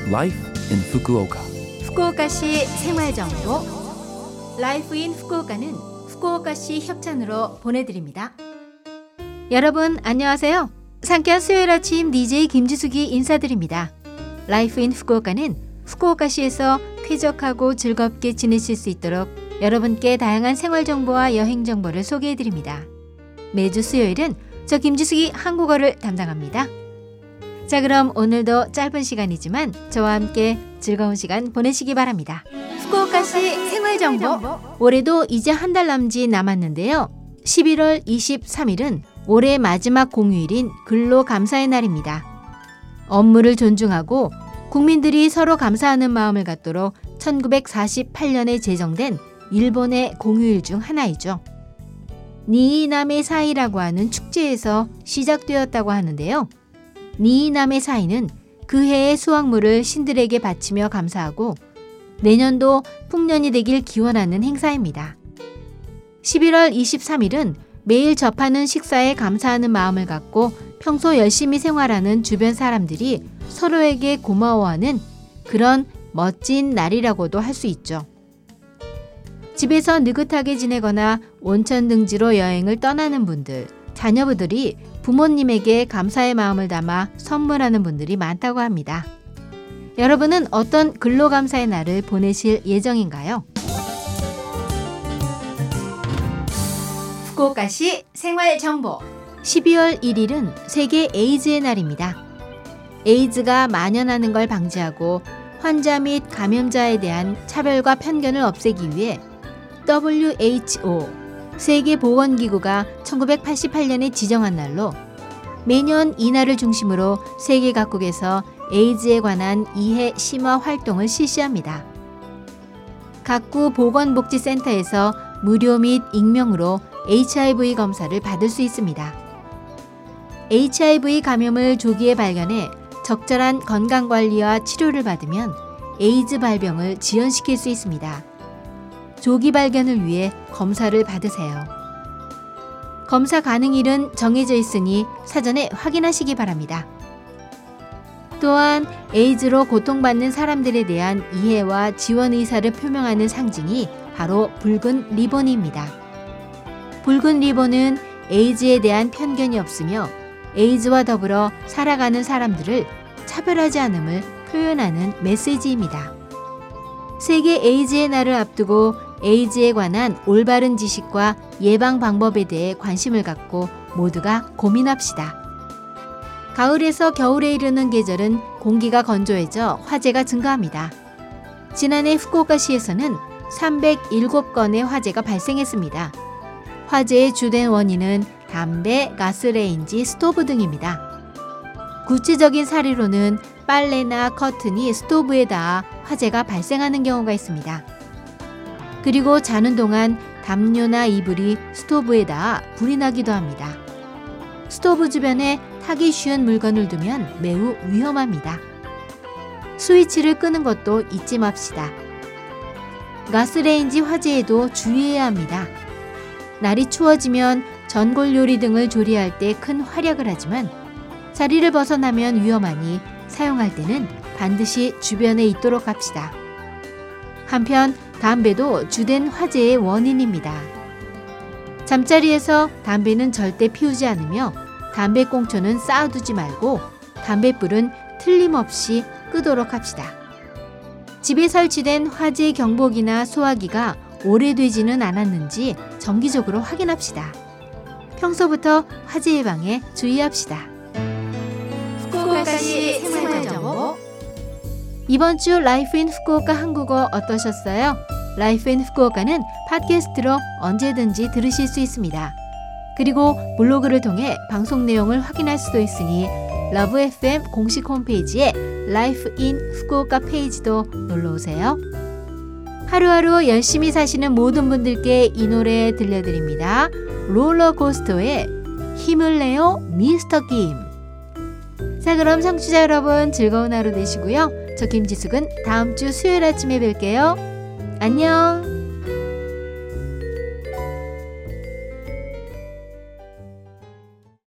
Life in Fukuoka. 후쿠오카시 생활정보 라이프 인 후쿠오카는 후쿠오카시 협찬으로 보내드립니다. 여러분 안녕하세요. 상쾌한 수요일 아침 DJ 김지숙이 인사드립니다. 라이프 인 후쿠오카는 후쿠오카시에서 쾌적하고 즐겁게 지내실 수 있도록 여러분께 다양한 생활정보와 여행정보를 소개해드립니다. 매주 수요일은 저 김지숙이 한국어를 담당합니다. 자, 그럼 오늘도 짧은 시간이지만 저와 함께 즐거운 시간 보내시기 바랍니다. 후쿠오카시 생활정보. 올해도 이제 한 달 남았는데요. 11월 23일은 올해 마지막 공휴일인 근로감사의 날입니다. 업무를 존중하고 국민들이 서로 감사하는 마음을 갖도록 1948년에 제정된 일본의 공휴일 중 하나이죠. 니이나메 사이라고 하는 축제에서 시작되었다고 하는데요. 니이나메 사이는 그 해의 수확물을 신들에게 바치며 감사하고 내년도 풍년이 되길 기원하는 행사입니다. 11월 23일은 매일 접하는 식사에 감사하는 마음을 갖고 평소 열심히 생활하는 주변 사람들이 서로에게 고마워하는 그런 멋진 날이라고도 할 수 있죠. 집에서 느긋하게 지내거나 온천 등지로 여행을 떠나는 분들, 자녀분들이 부모님에게 감사의 마음을 담아 선물하는 분들이 많다고 합니다. 여러분은 어떤 근로감사의 날을 보내실 예정인가요? 후쿠오카시 생활정보 12월 1일은 세계 에이즈의 날입니다. 에이즈가 만연하는 걸 방지하고 환자 및 감염자에 대한 차별과 편견을 없애기 위해 WHO 세계보건기구가 1988년에 지정한 날로 매년 이 날을 중심으로 세계 각국에서 에이즈에 관한 이해 심화 활동을 실시합니다. 각구 보건복지센터에서 무료 및 익명으로 HIV 검사를 받을 수 있습니다. HIV 감염을 조기에 발견해 적절한 건강관리와 치료를 받으면 에이즈 발병을 지연시킬 수 있습니다. 조기 발견을 위해 검사를 받으세요. 검사 가능일은 정해져 있으니 사전에 확인하시기 바랍니다. 또한 에이즈로 고통받는 사람들에 대한 이해와 지원 의사를 표명하는 상징이 바로 붉은 리본입니다. 붉은 리본은 에이즈에 대한 편견이 없으며 에이즈와 더불어 살아가는 사람들을 차별하지 않음을 표현하는 메시지입니다. 세계 에이즈의 날을 앞두고 에이즈에 관한 올바른 지식과 예방 방법에 대해 관심을 갖고 모두가 고민합시다. 가을에서 겨울에 이르는 계절은 공기가 건조해져 화재가 증가합니다. 지난해 후쿠오카시에서는 307건의 화재가 발생했습니다. 화재의 주된 원인은 담배, 가스레인지, 스토브 등입니다. 구체적인 사례로는 빨래나 커튼이 스토브에 닿아 화재가 발생하는 경우가 있습니다. 그리고 자는 동안 담요나 이불이 스토브에 닿아 불이 나기도 합니다. 스토브 주변에 타기 쉬운 물건을 두면 매우 위험합니다. 스위치를 끄는 것도 잊지 맙시다. 가스레인지 화재에도 주의해야 합니다. 날이 추워지면 전골 요리 등을 조리할 때 큰 활약을 하지만 자리를 벗어나면 위험하니 사용할 때는 반드시 주변에 있도록 합시다. 한편 담배도 주된 화재의 원인입니다. 잠자리에서 담배는 절대 피우지 않으며 담배꽁초는 쌓아두지 말고 담뱃불은 틀림없이 끄도록 합시다. 집에 설치된 화재 경보기나 소화기가 오래되지는 않았는지 정기적으로 확인합시다. 평소부터 화재 예방에 주의합시다. 후쿠오카시 생활정보 이번 주 라이프 인 후쿠오카 한국어 어떠셨어요? 라이프 인 후쿠오카는 팟캐스트로 언제든지 들으실 수 있습니다. 그리고 블로그를 통해 방송 내용을 확인할 수도 있으니 러브 FM 공식 홈페이지에 라이프 인 후쿠오카 페이지도 놀러오세요. 하루하루 열심히 사시는 모든 분들께 이 노래 들려드립니다. 롤러코스터의 힘을 내요 미스터 김. 자, 그럼 청취자 여러분 즐거운 하루 되시고요. 저 김지숙은 다음 주 수요일 아침에 뵐게요. 안녕.